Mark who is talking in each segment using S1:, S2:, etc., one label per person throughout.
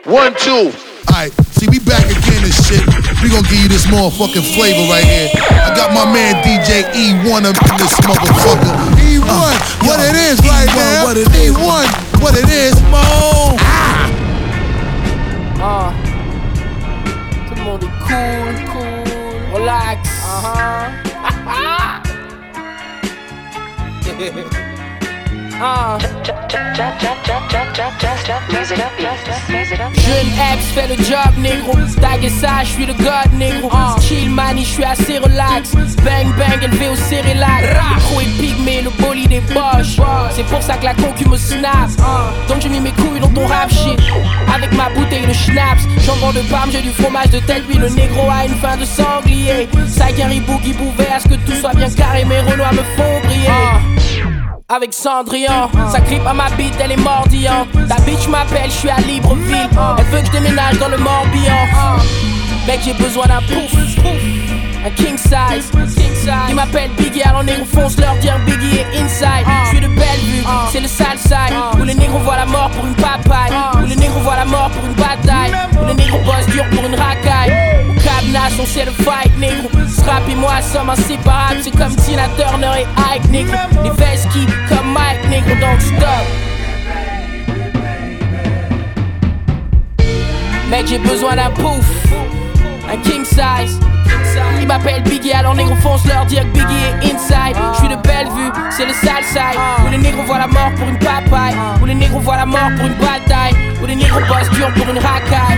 S1: 1, 2.
S2: Alright, see, we back again and shit. We gonna give you this motherfucking flavor right here. I got my man DJ E1 up in this motherfucker. E1, what it is right now. E1, what it is, Mo.
S3: Tout le monde est cool, relax. Jeune Epps fait le job, négro. Tag et ça, je suis le god, négro. Chill mani, je suis assez relax. Bang bang, élevé au cérélac. Trop épique, mais le bolide est boche. C'est pour ça que la concu me snap. Donc j'ai mis mes couilles dans ton rap shit. Avec ma bouteille de schnapps. Jambon de Parme, j'ai du fromage de tête. Puis le négro a une fin de sanglier. Saguin, Boogie Bouvet, à ce que tout soit bien carré. Mes Renois me font briller. Avec Cendrillon, ça grippe à ma bite, elle est mordillante. Ta bitch m'appelle, je suis à Libreville. Elle veut que je déménage dans le Morbihan. Mec, j'ai besoin d'un pouf, un king size. Ils m'appellent Biggie, alors négro fonce leur dire Biggie est inside. Je suis de Bellevue, c'est le sale side. Où les négros voient la mort pour une papaye. Où les négros voient la mort pour une bataille. Où les négros bossent dur pour une racaille. Au Cabnas, on sait le fight, négro. Strap et moi sommes inséparables. C'est comme Tina Turner et Ike, négro. Les vestes qui comme Mike, négro, donc stop. Mec, j'ai besoin d'un pouf, un king size. Ils m'appellent Biggie, alors négro fonce leur dire que Biggie est inside. Je suis de Bellevue, c'est le sale side. Où les négros voient la mort pour une papaye. Où les négros voient la mort pour une bataille. Où les négros bossent dur pour une racaille.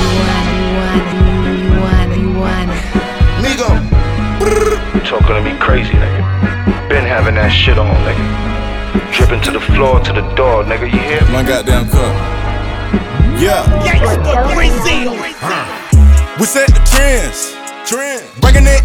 S1: Migo.
S4: You talking to me crazy, nigga. Been having that shit on, nigga. Dripping to the floor, to the door, nigga, you hear me?
S5: My goddamn cup. Yeah. We set the trends. Bringing it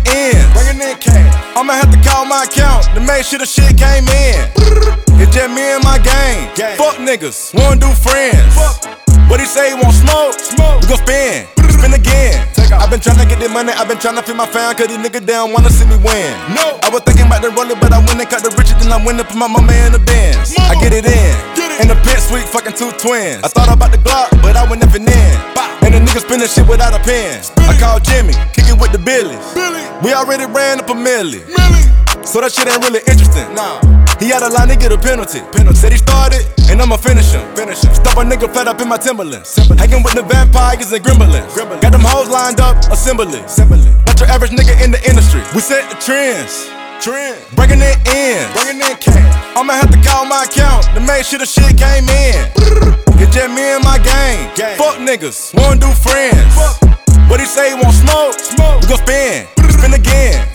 S5: in cash. I'ma have to call my account to make sure the shit came in. It's just me and my gang. Fuck niggas, wanna do friends. What he say, he want smoke? We gon' spin again. I've been tryna get this money, I've been tryna feed my fan, cause these niggas down wanna see me win. I was thinking about the roller, but I went and cut the riches, then I went and put my mama in the Benz. I get it in the pit suite, fucking two twins. I thought about the Glock, but I went nothing in. And the niggas spinning shit without a pen. I called Jimmy, kick it with the Billies. We already ran up a milli. So that shit ain't really interesting. He had a line to get a penalty. Said he started, and I'ma finish him. Stop a nigga flat up in my Timberlands. Hanging with the vampires and gremlins. Got them hoes lined up, assembly. Not your average nigga in the industry. We set the trends. Bringing it in cash. I'ma have to call my account to make sure the shit came in. It's just me and my gang. Fuck niggas, wanna do friends. What he say, he want smoke? We gon' spin again.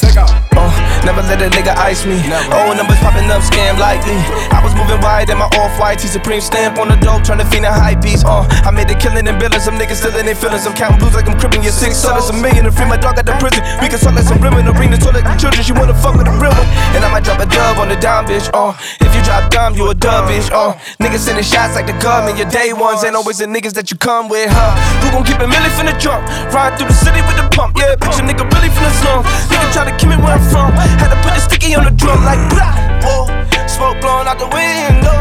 S6: Never let a nigga ice me. Old numbers popping up, scam likely. I was moving wide in my off-white T-Supreme stamp on the dope, trying to fiend a high piece. I made a killing and billing. Some niggas still in their feelings. I'm counting blues like I'm crippin'. Your 6 sodas, $1 million to free my dog out the prison. We can talk like some women, bring the toilet to children. She wanna fuck with a real one, and I might drop a dub on the dime, bitch. If you drop dumb, you a dub, bitch. Niggas sending shots like the government. Your day ones ain't always the niggas that you come with, huh? Who gon' keep a million from the jump? Ride through the city with the pump, yeah. Bitch, a nigga really from the slums. Nigga try to keep me where I'm from. Had to put the sticky on the drum like blah. Whoa, smoke blowing out the window.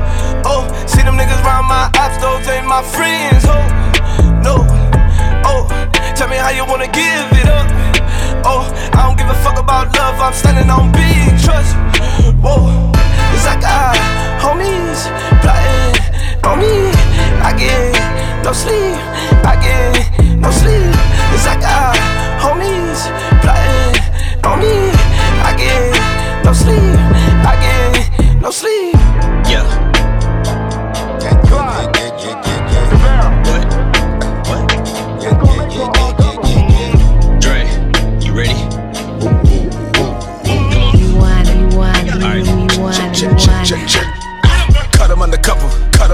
S6: Oh, see them niggas round my ops, those ain't my friends. Oh, no. Oh, tell me how you wanna give it up. Oh, I don't give a fuck about love, I'm standing on big trust. Whoa, it's like homies plotting on me. I get no sleep, I get no sleep. It's like homies plotting on me. I get no sleep, I get no sleep. Yeah. Dre, you ready? Check. Cut him undercover.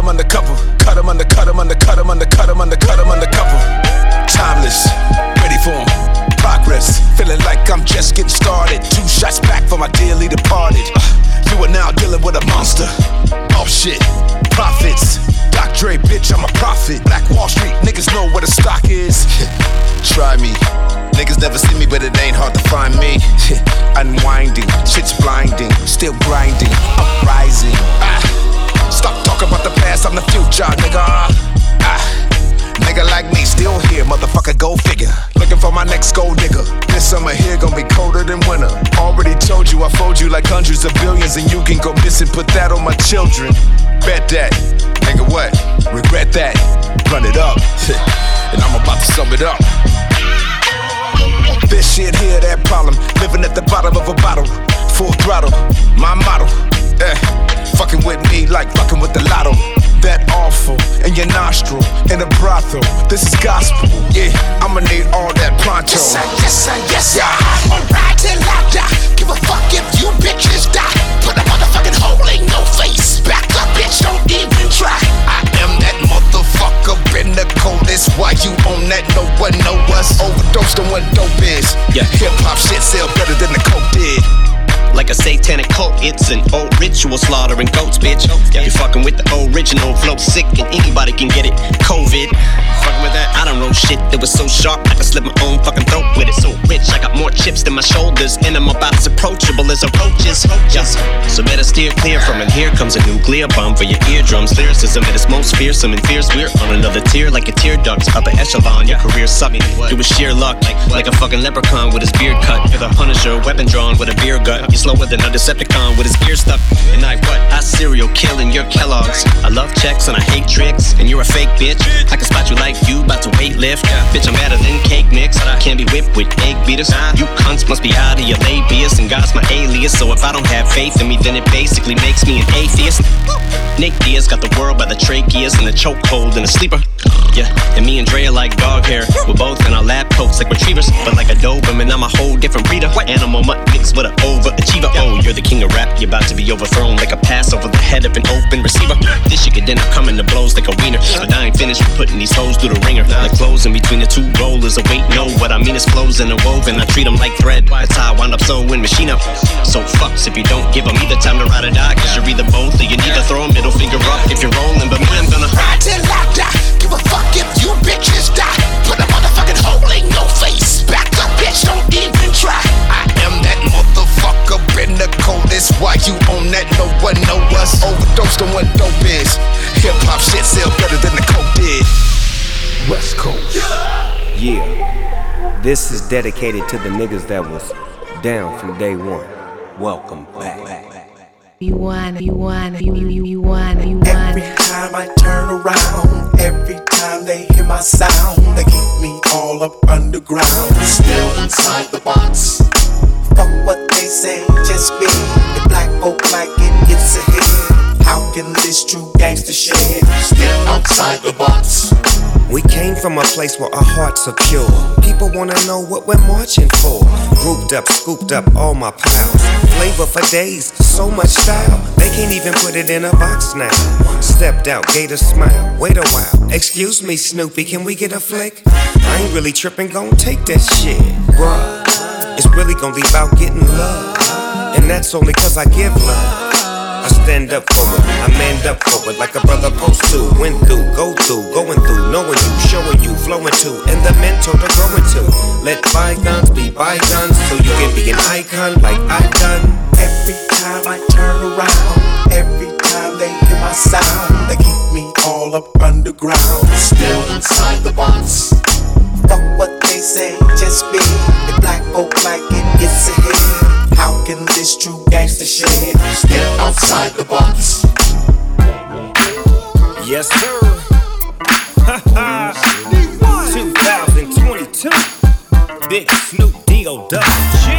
S6: Timeless, ready for him. Progress, feeling like I'm just getting started. 2 shots back for my dearly departed. You are now dealing with a monster. Oh shit, profits. Dr. Dre, bitch, I'm a prophet. Black Wall Street, niggas know where the stock is. Try me. Niggas never see me, but it ain't hard to find me. Unwinding, shit's blinding. Still grinding, uprising. Stop talking about the past, I'm the future, nigga.
S1: my next gold digger. This summer here gon' be colder than winter. Already told you I fold you like hundreds of billions, and you can go missing, put that on my children. Bet that, nigga what? Regret that, run it up, and I'm about to sum it up. This shit here, that problem, living at the bottom of a bottle, full throttle, my motto, fucking with me like fucking with the lotto. That awful in your nostril, in a brothel. This is gospel, yeah. I'ma need all that pronto.
S7: Yes, sir, yes, sir, yes, sir. I'll ride till I die. Give a fuck if you bitches die. Put a motherfucking hole in your face. Back up, bitch, don't even try. I am that motherfucker, been the coldest. Why you on that? No one know us. Overdosed on what dope is.
S8: Yeah,
S7: hip hop shit sell better than the coke did.
S8: Like a satanic cult, it's an old ritual slaughtering goats, bitch. You're fucking with the original flow, sick and anybody can get it. COVID, fucking with that. I don't know shit that was so sharp I could slit my own fucking throat with it. So rich, I got more chips than my shoulders, and I'm about as approachable as approaches. So better steer clear from it. Here comes a nuclear bomb for your eardrums. Lyricism at its most fearsome and fierce. We're on another tier like a tear ducts. Upper echelon, your career sucked. It was sheer luck, like a fucking leprechaun with his beard cut. You're the Punisher, weapon drawn with a beer gut. You're slower than a Decepticon with his gear stuck. And I serial killing your Kellogg's. I love checks and I hate tricks. And you're a fake bitch. I can spot you like you about to weight lift. Bitch, I'm better than cake mix. I can't be whipped with egg beaters. You cunts must be out of your labius. And God's my alias. So if I don't have faith in me, then it basically makes me an atheist. Nick Diaz got the world by the tracheas and the chokehold and a sleeper. Yeah, and me and Dre are like dog hair. We're both in our lab coats like retrievers. But like a Doberman, I'm a whole different breeder. Animal mutt mixed with an overachiever. Oh, you're the king of rap, you're about to be overthrown like a pass over the head of an open receiver. This shit could end up coming to blows like a wiener. But I ain't finished with putting these hoes through the ringer. Like clothes in between the two rollers. Wait, no, what I mean is flows in a woven. I treat them like thread. That's how I wind up sewing machine up. So fucks if you don't give them either time to ride or die. Cause you're either both or you need to throw a middle finger up if you're rolling. But me, I'm gonna
S7: ride till I die. Give a fuck if you bitches die. Put a motherfucking hole in your face. Back up, bitch, don't even try. I am that motherfucker, been the coldest. Why you on that? No one know us. Overdosed on what dope is. Hip hop shit sell better than the coke did. West Coast.
S9: Yeah, this is dedicated to the niggas that was down from day one. Welcome back.
S10: You want.
S11: Every time I turn around, every time they hear my sound, they keep me all up underground, still inside the box. Fuck what they say, just be the black folk like it gets ahead. How can this true gangster shit still outside the box?
S9: We came from a place where our hearts are pure. People wanna know what we're marching for. Grouped up, scooped up all my pals. Flavor for days, so much style. They can't even put it in a box now. Stepped out, gave a smile, wait a while. Excuse me, Snoopy, can we get a flick? I ain't really tripping, gon' take that shit, bruh. It's really gon' leave out getting love. And that's only cause I give love. I stand up for it, I manned up for it like a brother supposed to. Went through, go through, going through, knowing you, showing you, flowing to, and the mentor to growing to. Let bygones be bygones so you can be an icon like I've done.
S11: Every time I turn around, every time they hear my sound, they keep me all up underground, still inside the box. Fuck what they say, just be the black folk like it gets ahead. How can this true gangster shit still outside the box?
S9: Yes, sir. 2022. Big Snoop D.O. Double G.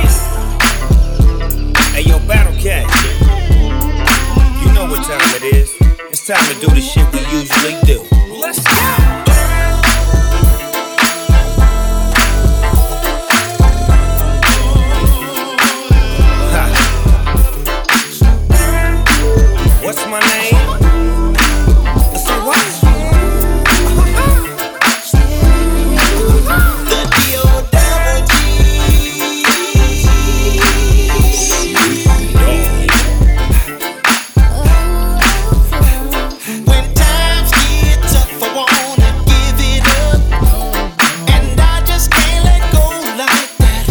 S9: Hey, yo, Battle Cat. You know what time it is. It's time to do the shit we usually do. Let's go. What's my name? Say what?
S7: The D.O. Double G. When times get tough, I wanna give it up, and I just can't let go like that.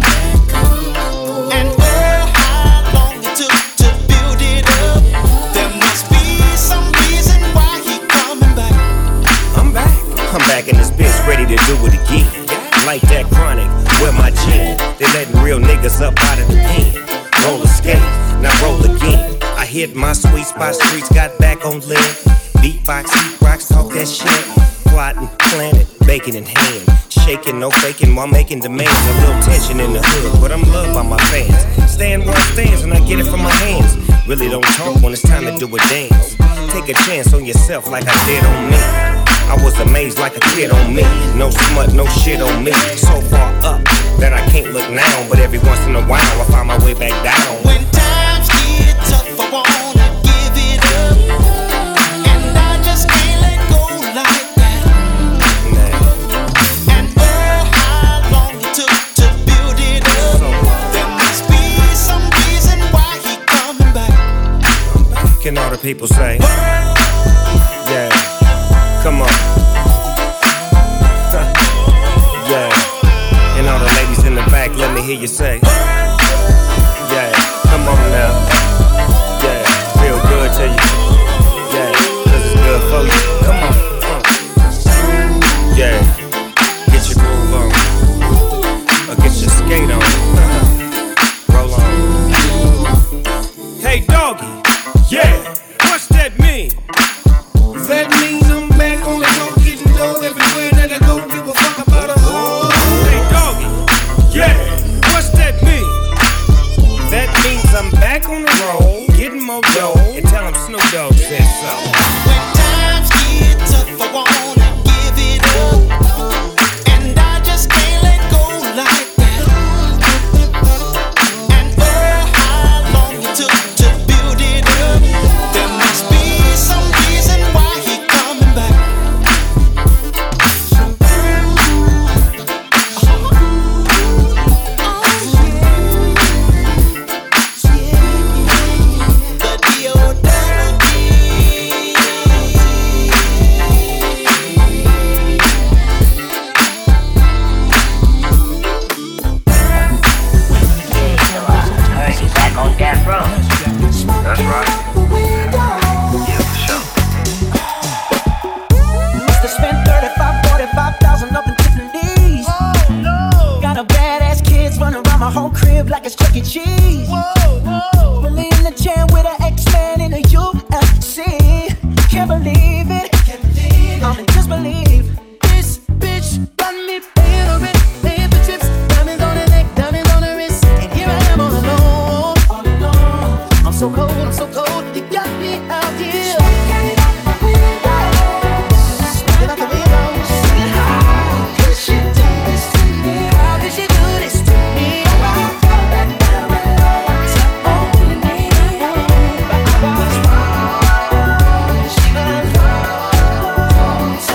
S7: And oh, how long it took to build it up. There must be some reason why he coming back.
S9: I'm back in this bitch, ready to do it again. like that chronic. Where my gin? They letting real niggas up out of the pen. Roller skate, now roll again. I hit my sweet spot, streets got back on lead. Beatbox, heat rocks, talk that shit. Plotting, planning, baking in hand. Shaking, no faking while making demands. A little tension in the hood, but I'm loved by my fans. Stand where I stands and I get it from my hands. Really don't talk when it's time to do a dance. Take a chance on yourself like I did on me. I was amazed like a kid on me. No smut, no shit on me. So far up that I can't look now. But every once in a while I find my way back down.
S11: When times get tough, I wanna give it up. And I just can't let go like that. Nah. And oh, how long it took to build it up. There must be some reason why he coming back.
S9: Can all the people say? Yeah. Come on. Yeah. And all the ladies in the back, let me hear you say. Yeah. Come on now. Yeah. Feel good to you. Yeah. Cause it's good for you. Come on. Yeah. Get your groove on. Or get your skate on. Roll on. Hey, doggy. Yeah. What's that mean?
S11: That means I'm back on the road, getting dough everywhere that I go. Give a fuck about a hoe.
S9: Hey, doggy. Yeah. What's that mean? That means I'm back on the road, getting more dough, and tell him Snoop Dogg said so.
S11: When times get tough, I wanna give it up. And I just can't let go like that. And oh, how long it took to build it up. There must be some reason why he coming back. The D.O.W.G.
S10: He's back on death row.
S4: That's right. Yeah, for sure.
S12: Must have spent 45,000 up in Tiffany's. Got a badass kids running around my whole crib like it's Chuck E. Cheese. Really in the jam with an X-Man in a UFC. Can't believe it. Just believe. This bitch got me paying her rent, paying for trips, diamonds on her neck, diamonds on her wrist, and here I am all alone. I'm so cold, you got me out here. Smoking out the window, singing, how could she do this to me? How could she do this to me? Only me. But I was wrong. She was wrong. To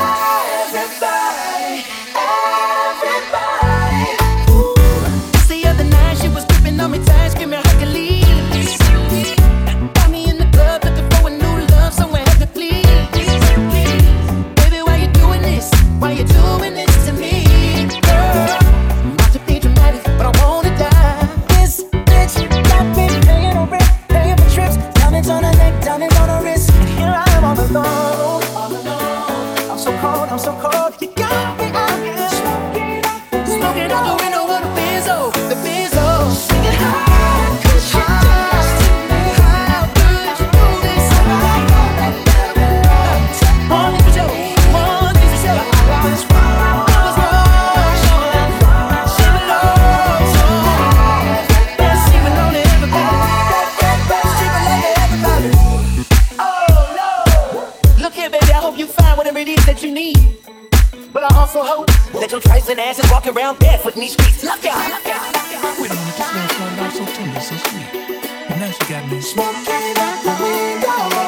S12: everybody. Just the other night she was gripping on me tight, screaming Hercules. Got me in the club looking for a new love, somewhere to please. Baby, why you doing this? Why you doing this to me? Girl, not to be dramatic, but I wanna die. This bitch got me paying her rent, paying for trips, diamonds on her neck, diamonds on her wrist, and here I am all alone. I'm so cold, you got me out here. Smoking out the window of the Benzo, singing, how could you do this to me? How could you do this? One thing for sure, I was wrong. She belongs to she belong to everybody. Oh no, look here, baby, I hope you find whatever it is that you need. But I also hope that your tricing asses walk around barefoot in these streets. Look out.
S13: Wait a minute, this girl started off so tender, so sweet. And now she got me
S12: Smoking out the window.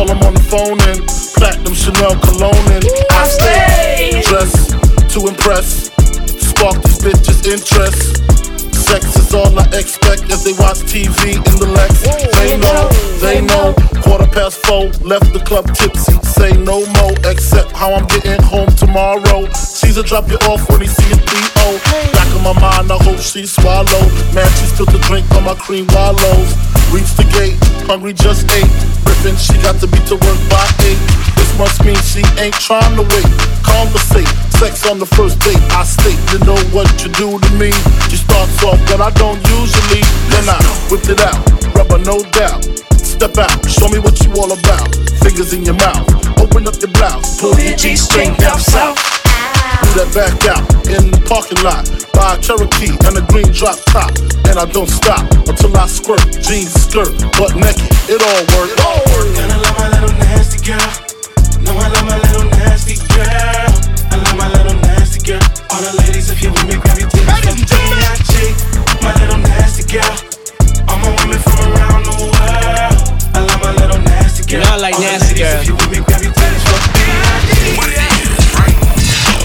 S14: call them on the phone and platinum Chanel cologne and I stay dressed to impress, spark these bitches' interest. Sex is all I expect as they watch TV in the Lex. They know, 4:15, left the club tipsy. Say no more, except how I'm getting home tomorrow. Caesar drop you off when he see a 3-0. Back in my mind, I hope she swallow. Man, she spilled the drink on my cream wallows. Reach the gate, hungry just ate. Griffin, she got to be to work by 8. This must mean she ain't trying to wait. Conversate, sex on the first date. I state, you know what you do to me. You start soft, but I don't usually. Then I whip it out, rubber no doubt. Step out, show me what you all about. Fingers in your mouth, open up your blouse. Pull your G-string down south. Do that back out in the parking lot. Buy a Cherokee and a green drop top. And I don't stop until I squirt. Jeans, skirt, butt naked, it all work.
S11: And I love my little nasty girl. No, I love my little nasty girl. I love my little nasty girl. All the ladies, if you with me, grab your titties from D.I.G. My little nasty girl. All my women from around the world. I love my little nasty girl.
S3: You know I like nasty girl.
S11: If you with me, grab your titties from D.I.G.
S7: What it is right now.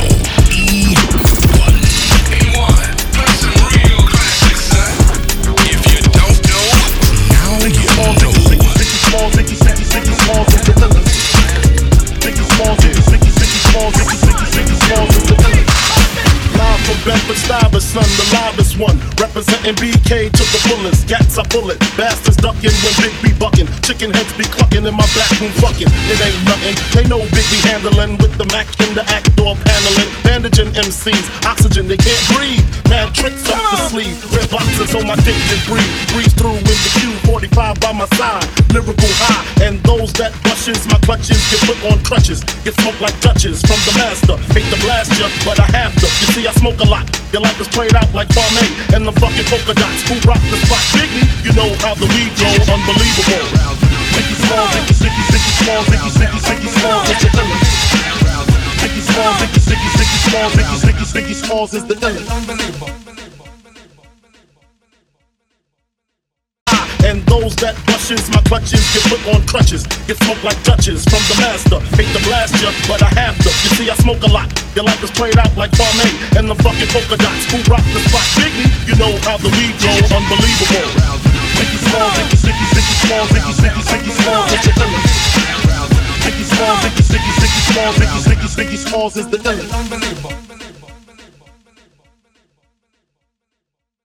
S7: E1. Play some real classics, son. If you don't know, now you know.
S14: Ziggy Smalls, Ziggy Smalls is the villain. Ziggy Smalls is the villain. Live from Bedford Stuyvesant, the livest one. Representing BK to the fullest. Gats I pull it. Bastards ducking when Big B bucking. Chicken heads be clucking in my back room fucking. It ain't nothing. They know Big B handling with the Mac in the act door paneling. Bandaging MCs, oxygen they can't breathe. Mad tricks up the sleeve. Red boxes on my dick and breathe. Breeze through in the Q45 by my side. Lyrical high. And those that brushes my clutches get put on crutches. Get smoked like Dutches from the master. Hate to blast ya, but I have to. You see I smoke a lot. Your life is played out like Farmay and the fucking polka dots. Who rock the spot? Biggie, you know how the weed go. Unbelievable. Ziggy Smalls, Ziggy Smalls, Ziggy Smalls is the villain. Ziggy Smalls, Ziggy Smalls is the villain. And those that brushes my clutches get put on crutches. Get smoked like Dutches from the master. Hate to blast ya, but I have to. You see I smoke a lot. Your life is played out like Farmay and the fucking polka dots. Who rock the spot? Biggie, you know how the weed go. Unbelievable. Ziggy Smalls, Ziggy Smalls, Ziggy Smalls is the villain. Ziggy Smalls, Ziggy Smalls is the villain.